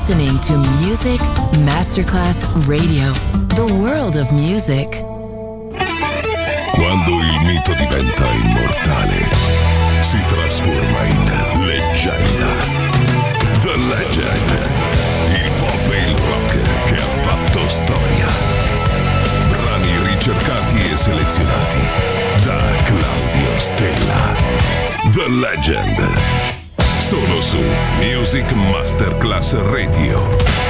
listening to Music Masterclass Radio, the world of music. Quando il mito diventa immortale, si trasforma in leggenda. The Legend, il pop e il rock che ha fatto storia. Brani ricercati e selezionati da Claudio Stella. The Legend, solo su Music Masterclass Radio.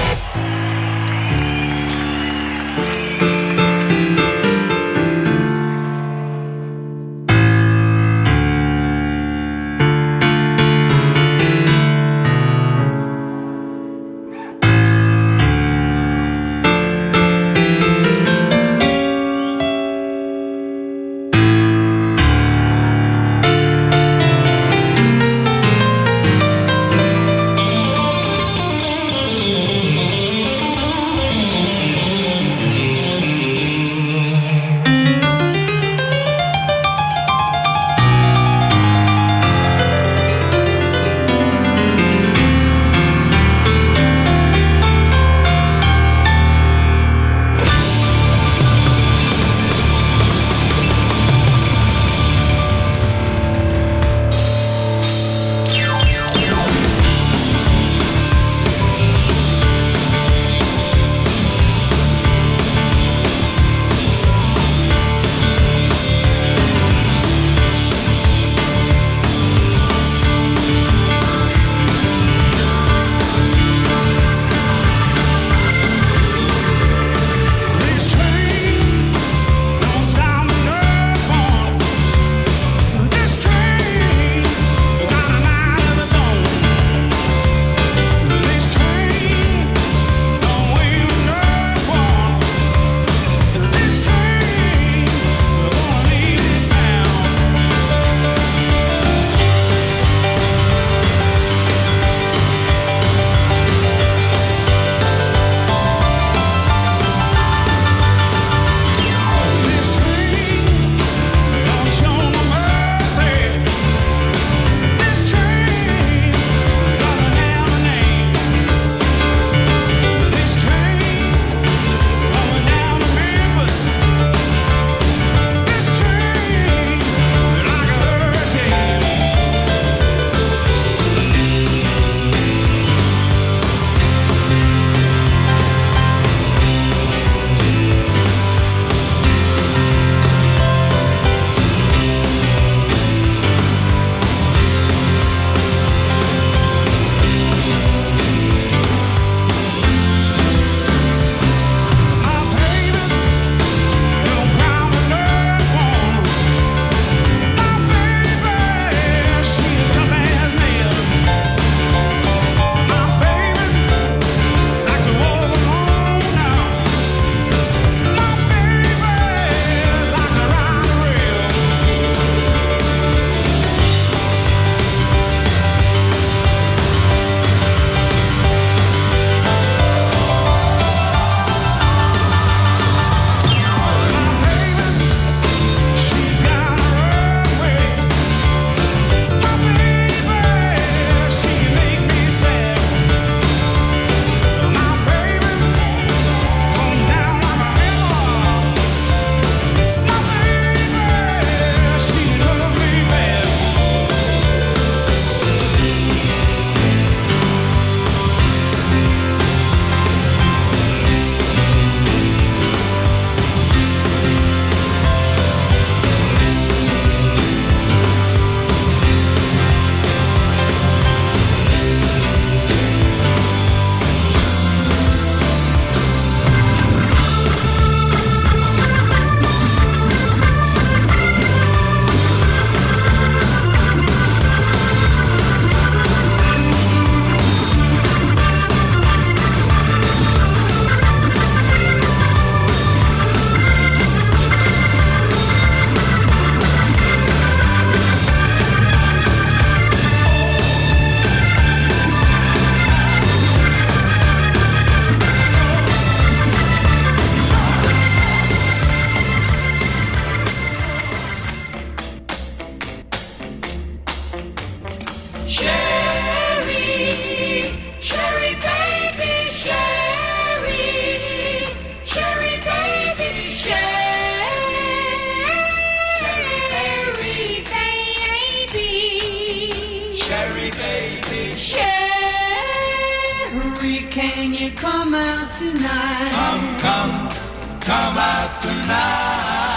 Sherry, can you come out tonight? Come out tonight.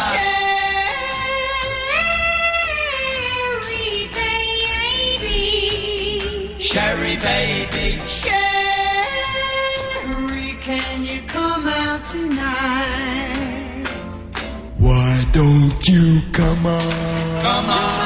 Sherry, baby. Sherry, baby. Sherry, can you come out tonight? Why don't you come on? Come on.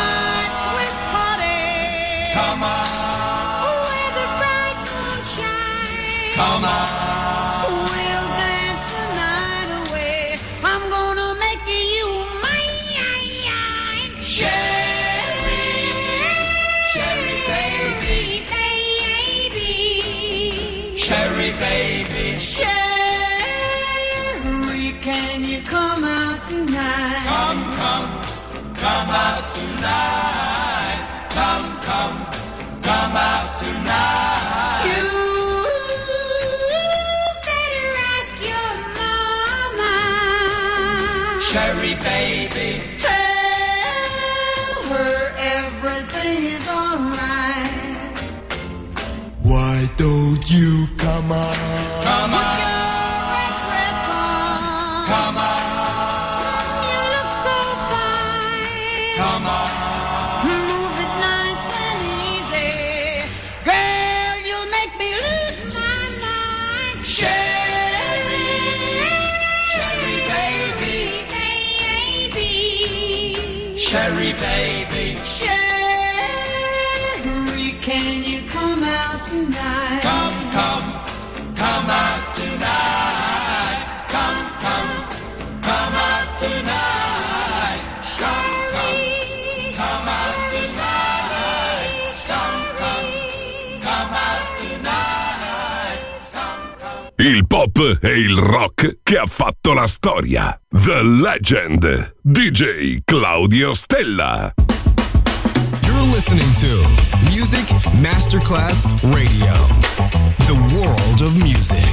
Come on, where the bright moon shines. Come on, we'll dance the night away. I'm gonna make you mine. Sherry, Sherry baby, baby. Sherry baby, Sherry, can you come out tonight? Come out tonight. Come out tonight. You better ask your mama. Sherry baby, tell her everything is alright. Why don't you come on? Come on. Put your red dress on. Come on. You look so fine. Come on. Sherry baby, Sherry, can you come out tonight? Come out tonight. Come out tonight. Come out tonight. Come out tonight. Il pop e il rock che ha fatto la storia. The Legend, DJ Claudio Stella. You're listening to Music Masterclass Radio. The world of music.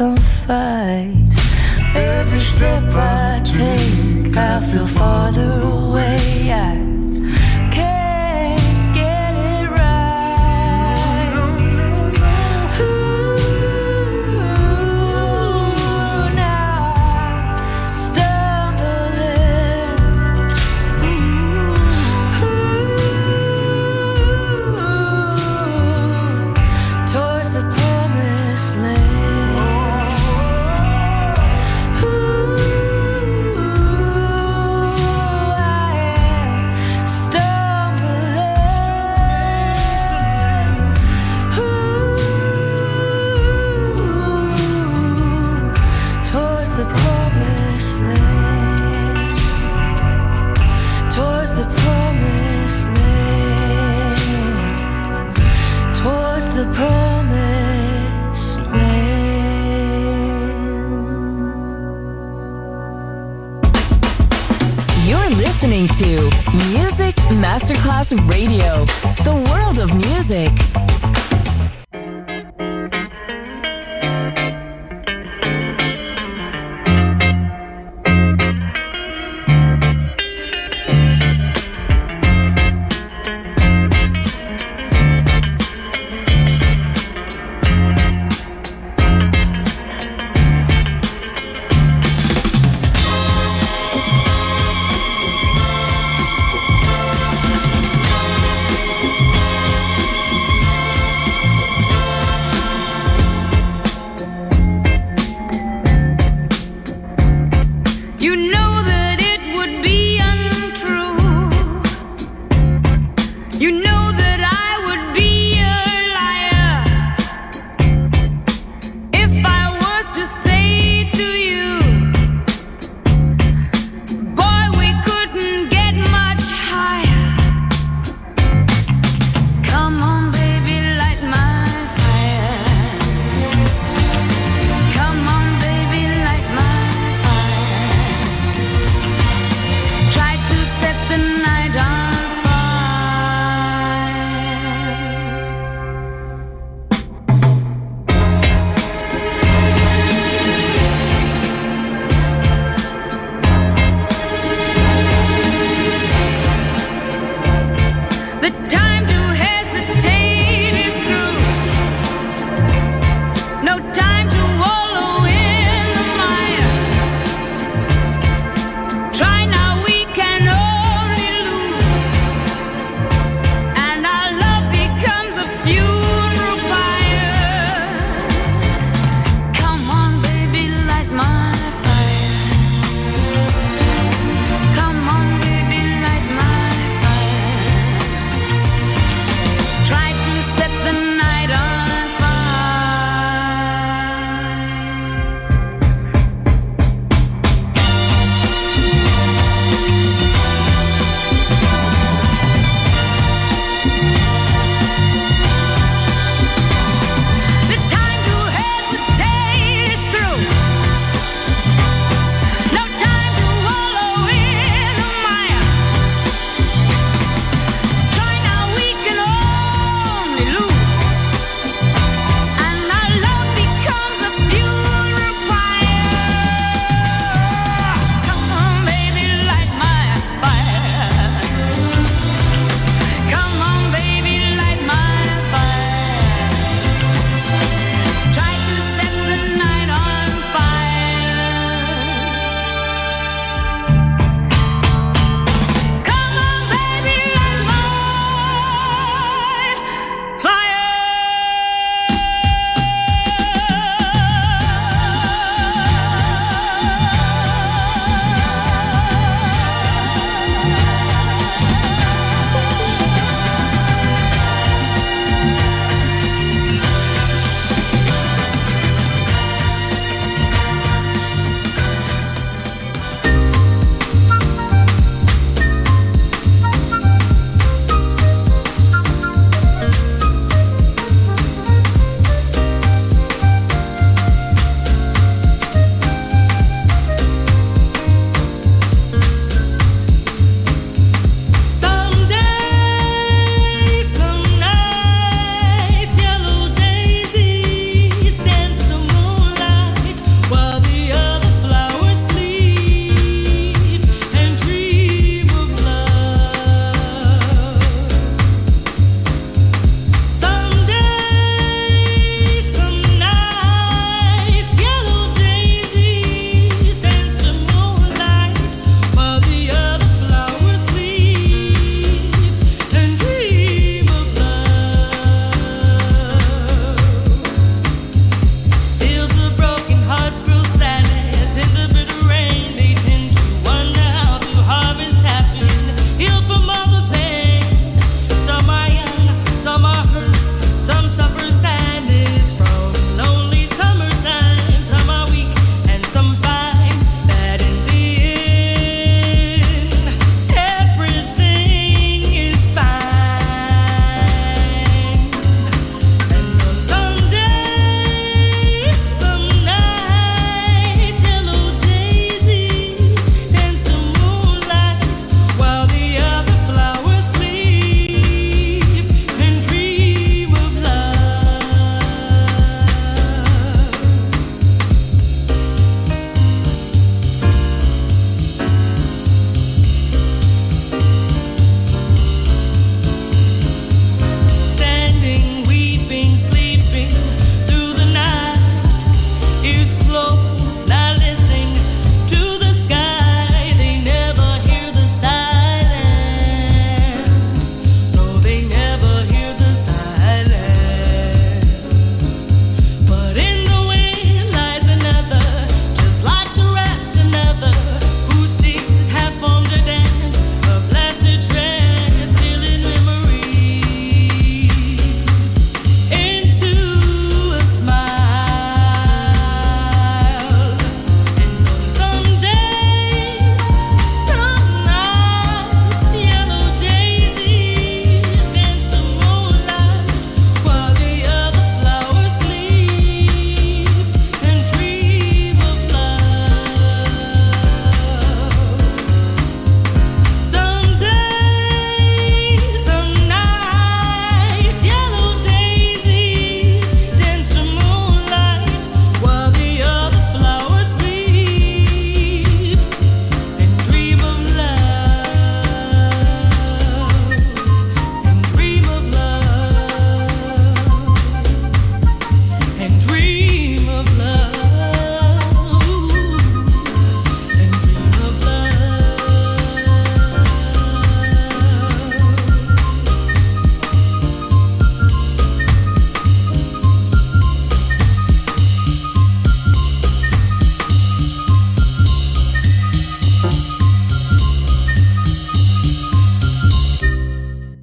some fight. Every step I take, I feel farther away. I can't get it right. Ooh, now I'm stumbling. Ooh, towards the promised land. The promised land. You're listening to Music Masterclass Radio, the world of music.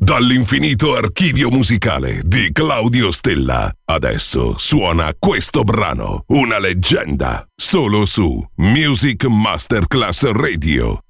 Dall'infinito archivio musicale di Claudio Stella, adesso suona questo brano, una leggenda, solo su Music Masterclass Radio.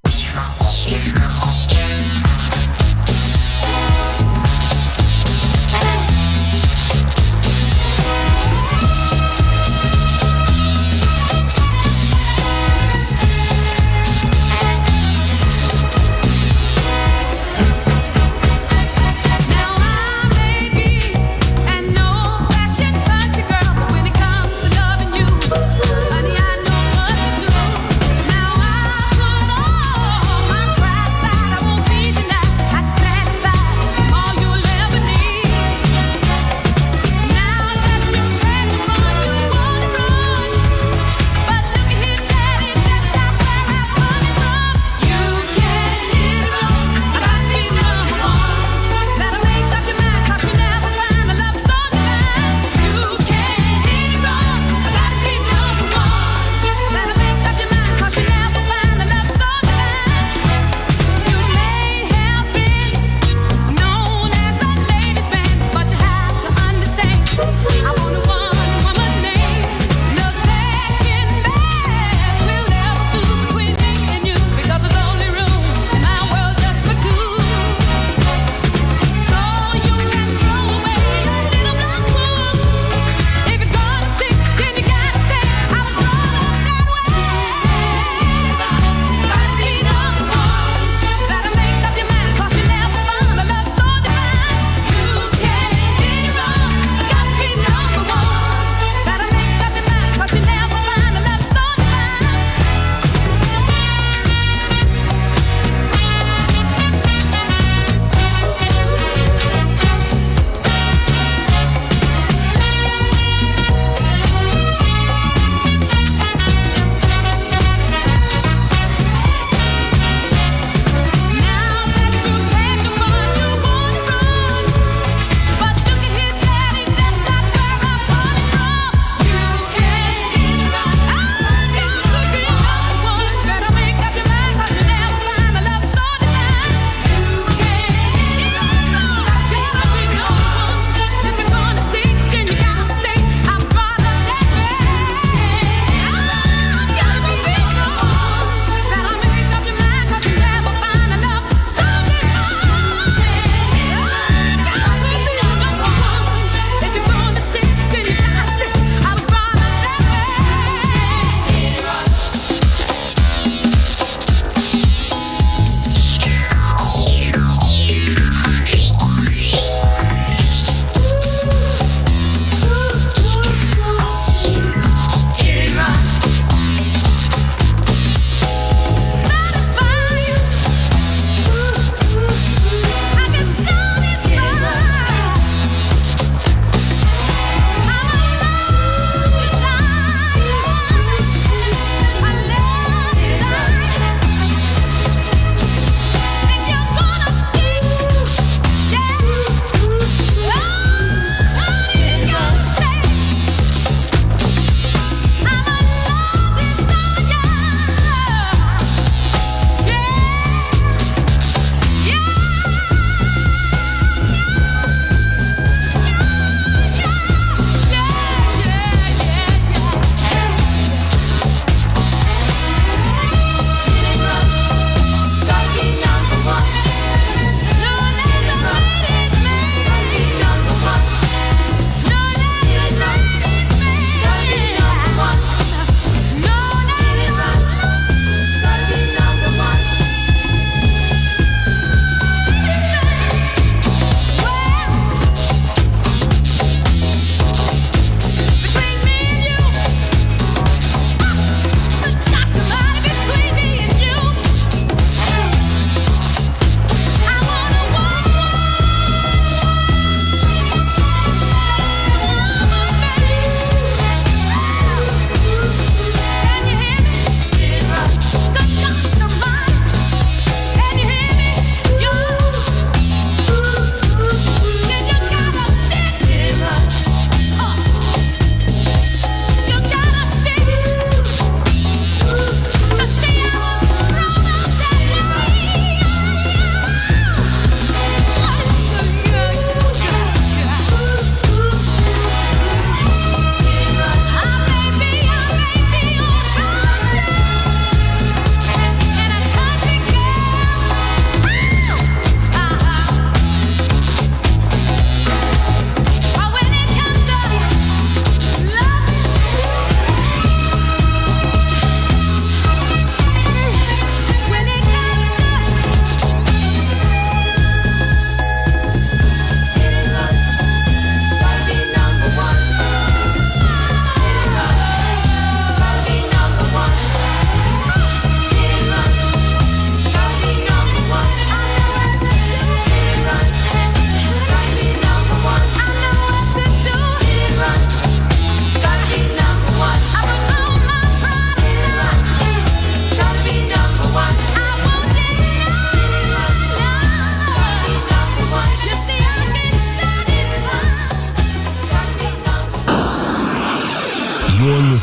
Honey, I know what to do. Now I put all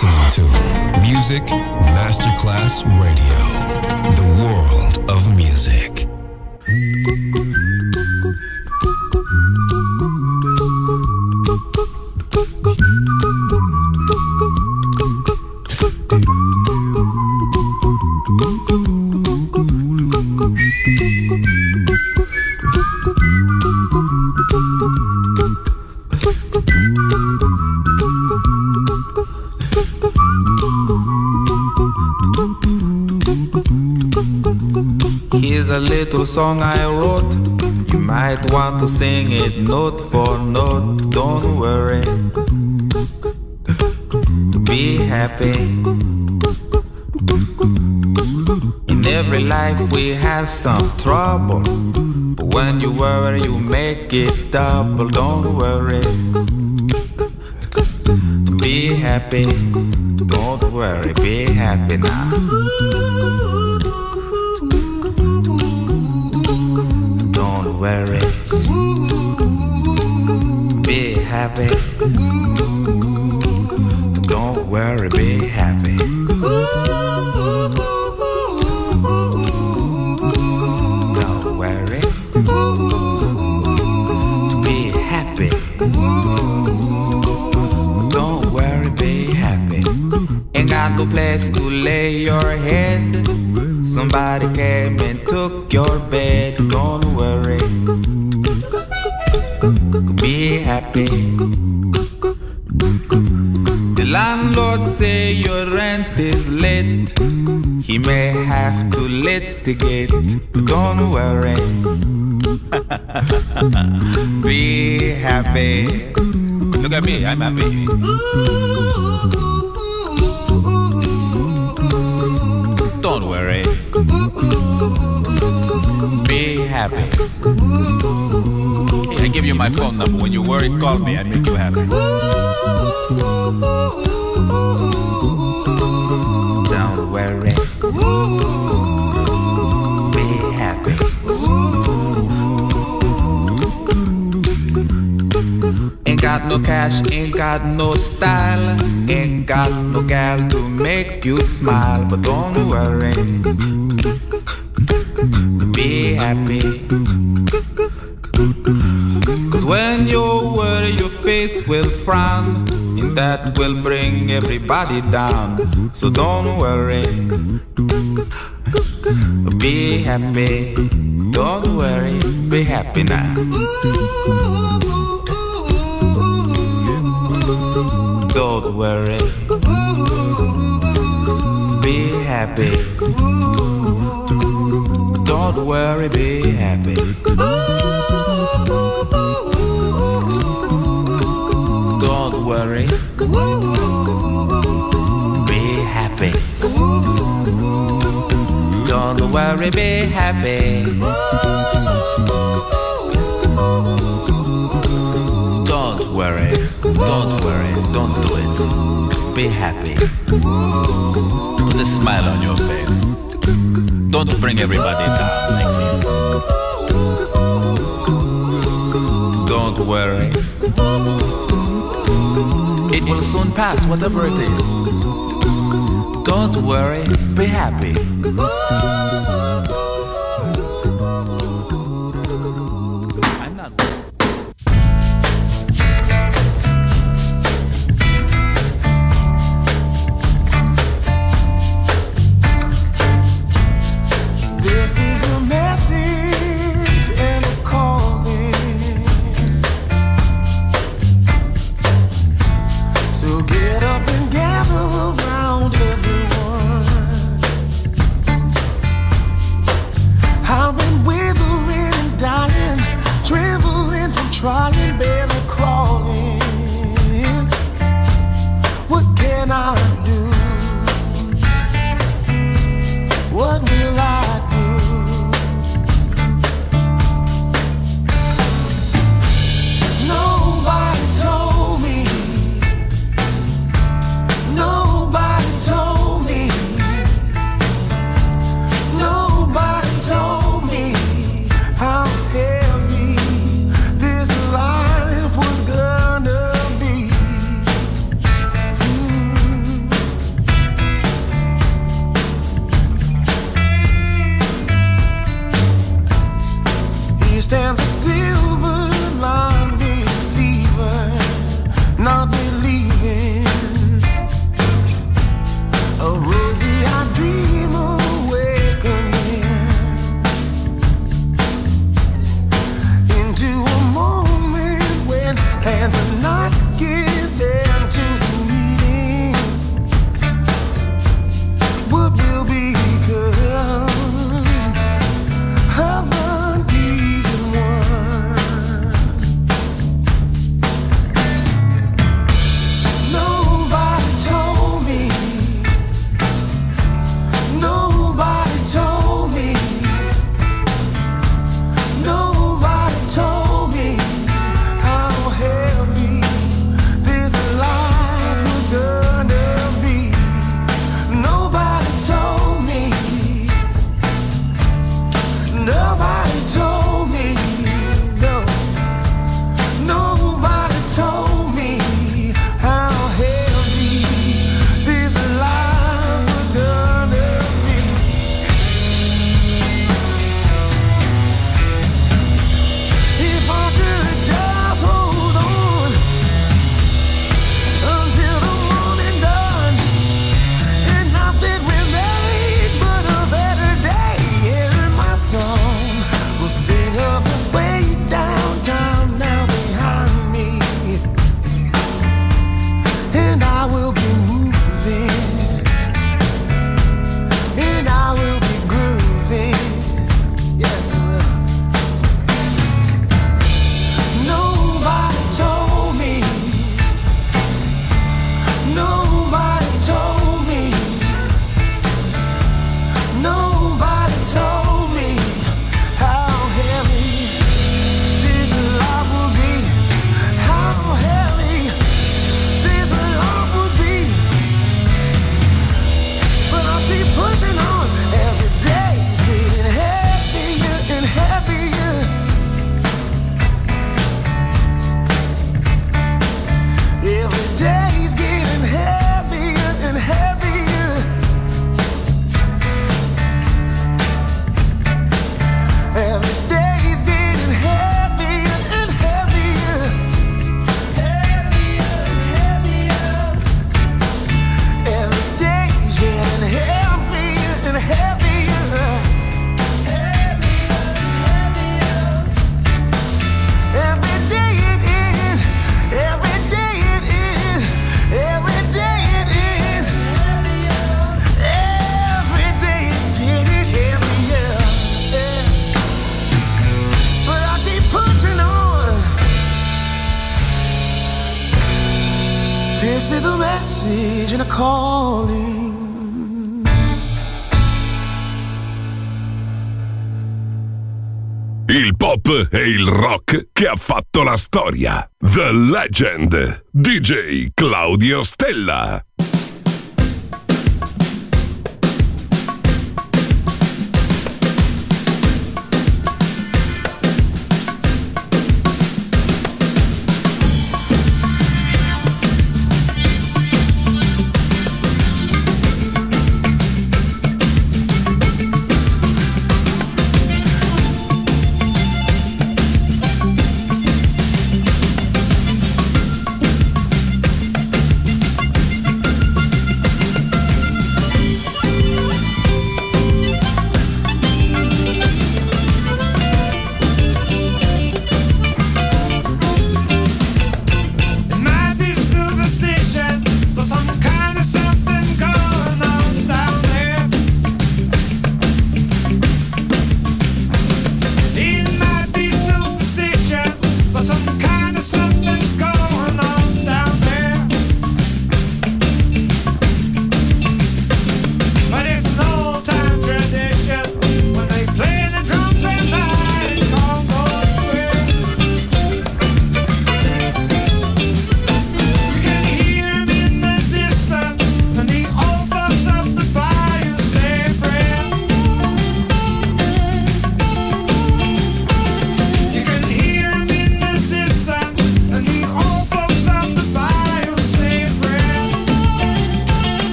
listening to Music Masterclass Radio, the world of music. Here's a little song I wrote. You might want to sing it note for note. Don't worry, be happy. In every life we have some trouble, but when you worry you make it double. Don't worry, be happy. Don't worry, be happy now. Don't worry, be happy. Don't worry, be happy. Don't worry, be happy. Don't worry, be happy. Ain't got no place to lay your head. Somebody came and took your bed. Don't worry, be happy. The landlord say your rent is late. He may have to litigate. Don't worry, be happy. Look at me, I'm happy. Don't worry, be happy. I give you my phone number. When you worry, call me. I make you happy. Don't worry, be happy. Ain't got no cash, ain't got no style, ain't got no gal to make you smile. But don't worry, be happy. Cause when you worry your face will frown, and that will bring everybody down. So don't worry, be happy. Don't worry, be happy now. Don't worry, be happy. Don't worry, be happy. Don't worry, be happy. Don't worry, be happy. Don't worry, don't do it. Be happy. Put a smile on your face. Don't bring everybody down like this. Don't worry, it will soon pass, whatever it is. Don't worry, be happy. I'm not. This is a message and a calling. So get up and gather around everyone. I've been withering and dying, trembling from trying, barely crawling. What can I do? What will I do? stands a silver line believer, not believing. A rosy-eyed dream awakening into a moment when hands are not given to the meeting. What will become of an even one? Nobody told me. Nobody told me. Nobody told me how heavy this life was gonna be. Nobody told me. Nobody told me. No. Nobody told me how heavy this life was gonna be. If I could just hold on until the morning dawns, and nothing remains but a better day. And my song will sing of the way downtown now behind me, and I will be moving, and I will be grooving. Yes, I will. Nobody told me. Nobody told me. Nobody told me how heavy this life would be. How heavy this life would be. But I'll keep pushing on. Every day's getting heavier and heavier. Every day's getting heavier and heavier. Every day's getting heavier and heavier. Heavier and heavier. Every day's getting heavier and heavier. Heavier and heavier. Every day it is. Every day it is. Every day it is. Every day is getting heavier. Yeah. But I keep pushing on. This is a message and a calling. Il pop e il rock che ha fatto la storia. The Legend. DJ Claudio Stella.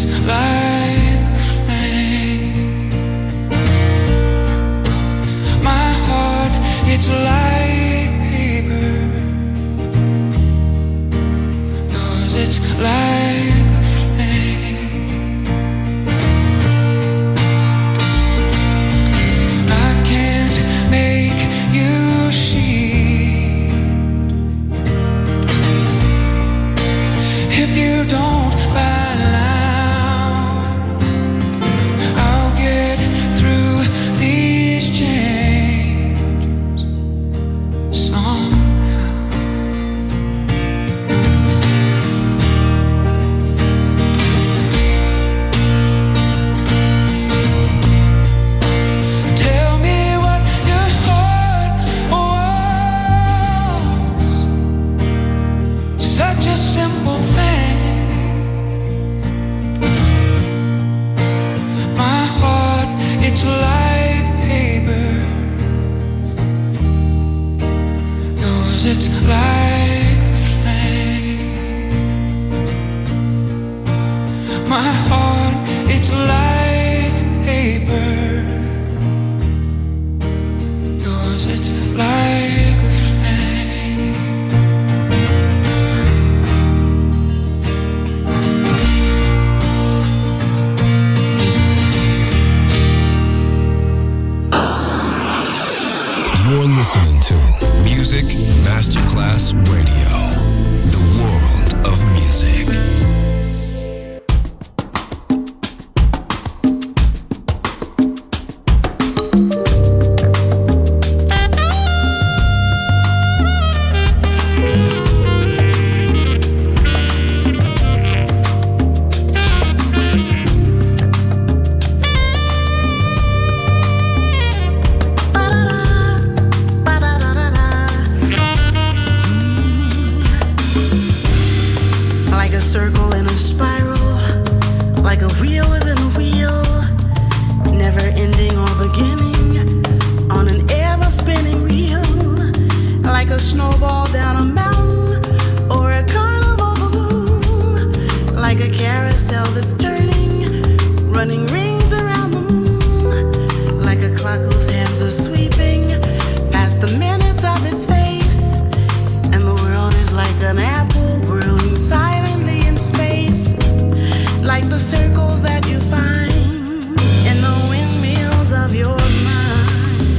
like a flame. My heart, it's like paper. Yours, it's like a flame. I can't make you see if you don't buy loud. I'll get through these chains somehow. Tell me what your heart wants. Such a simple thing. My heart, it's like paper. Yours, it's like a flame. My heart, it's like paper. Yours, it's like a flame. You're listening to Music Masterclass Radio, the world of music. Like a circle in a spiral, like a wheel within a wheel, never ending or beginning on an ever spinning reel. Like a snowball down a mountain or a carnival balloon, like a carousel that's turning, running rings around the moon, like a clock whose hands are sweeping past the minutes of its face, and the world is like an apple whirling silently in space, like the circles that you find in the windmills of your mind.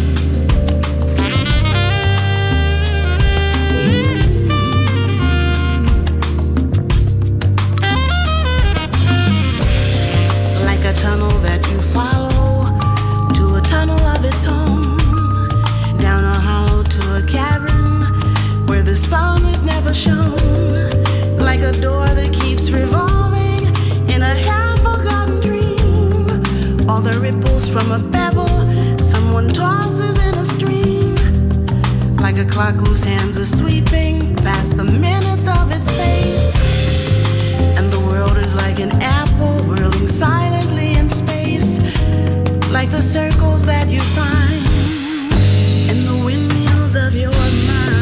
Like a tunnel that you follow to a tunnel of its own, down a hollow to a cavern where the sun is never shown, like a door that keeps revolving in a half-forgotten dream, or the ripples from a pebble someone tosses in a stream, like a clock whose hands are sweeping past the minutes of its face, and the world is like an apple whirling silently in space, like the circles that you find in the windmills of your mind.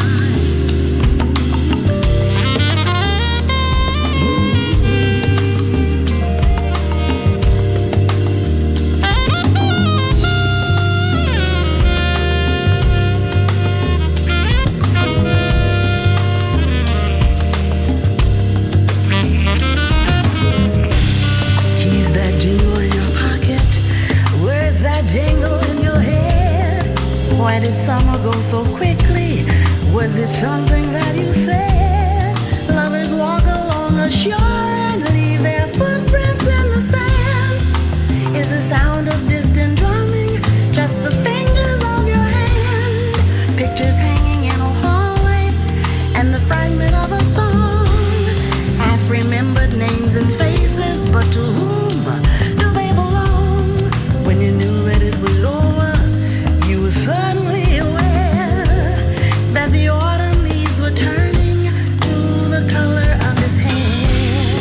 Keys that jingle in your pocket, words that jingle in your head. Why did summer go so quickly? Was it something that you said? Lovers walk along a shore and leave their footprints in the sand. Is the sound of distant drumming just the fingers of your hand? Pictures hanging in a hallway and the fragment of a song. Half-remembered names and faces, but to whom do they belong? When you knew that it was over, you were suddenly aware that the autumn leaves were turning to the color of his hair.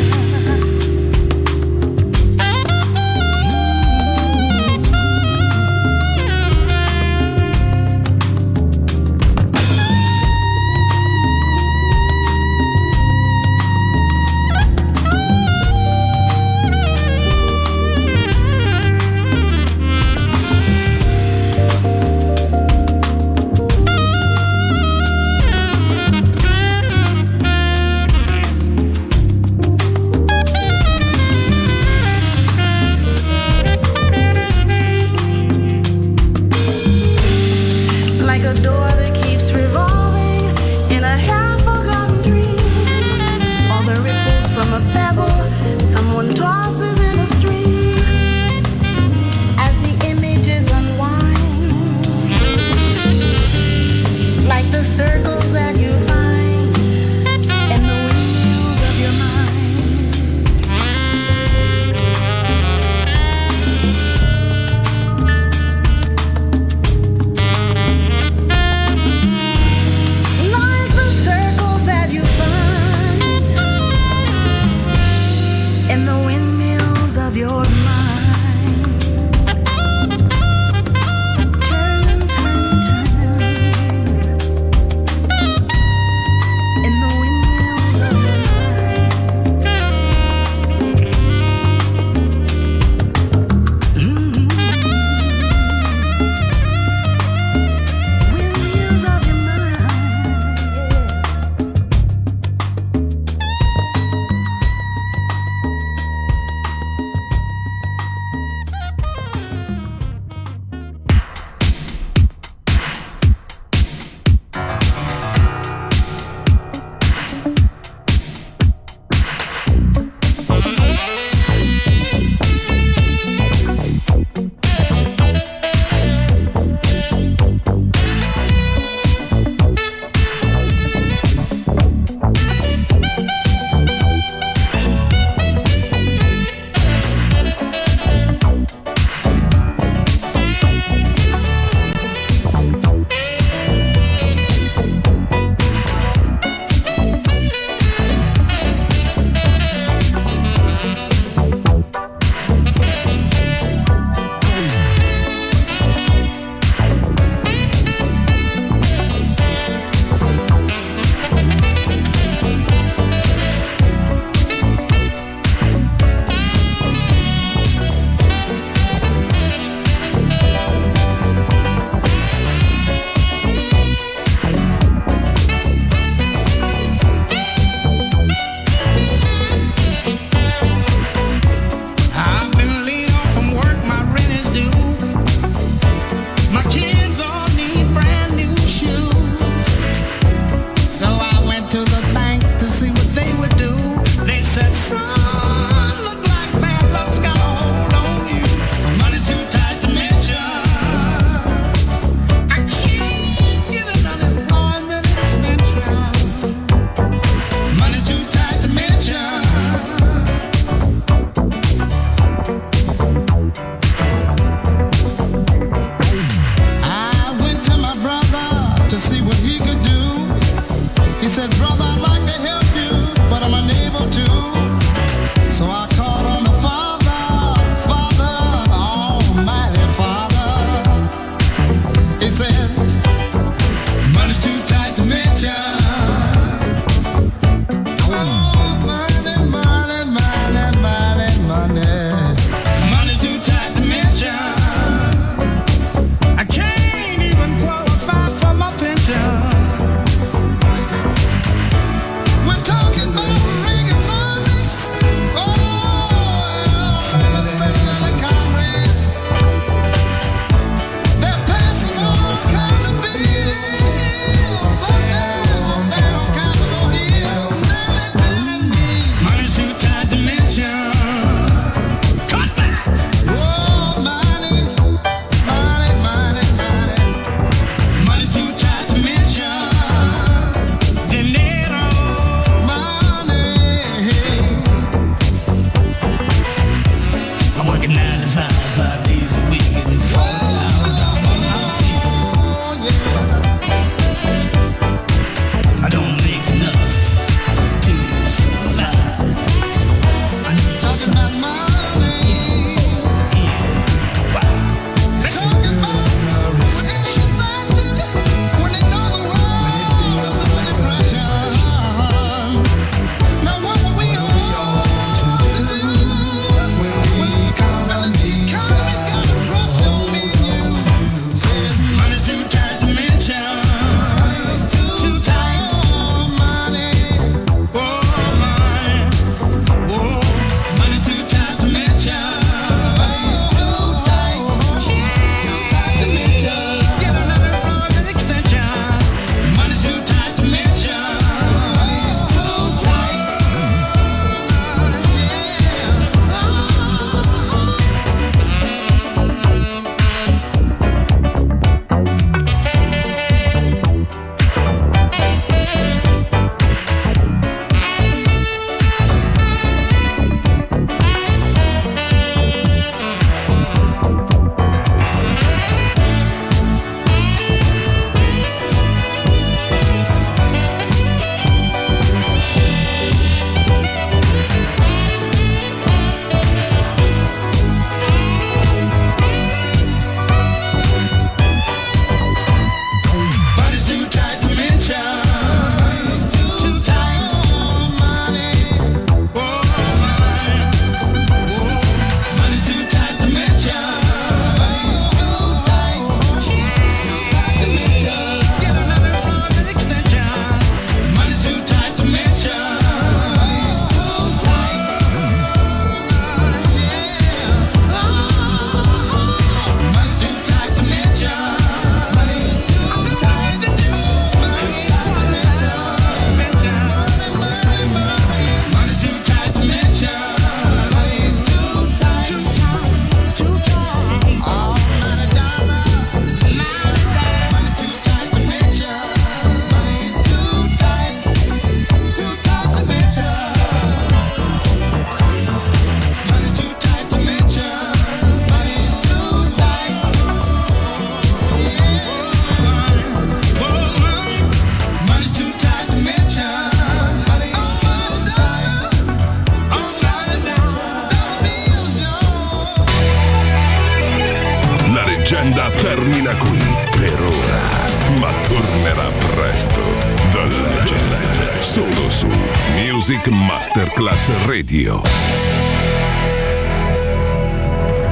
leggenda termina qui per ora, ma tornerà presto. The Legend, solo su Music Masterclass Radio.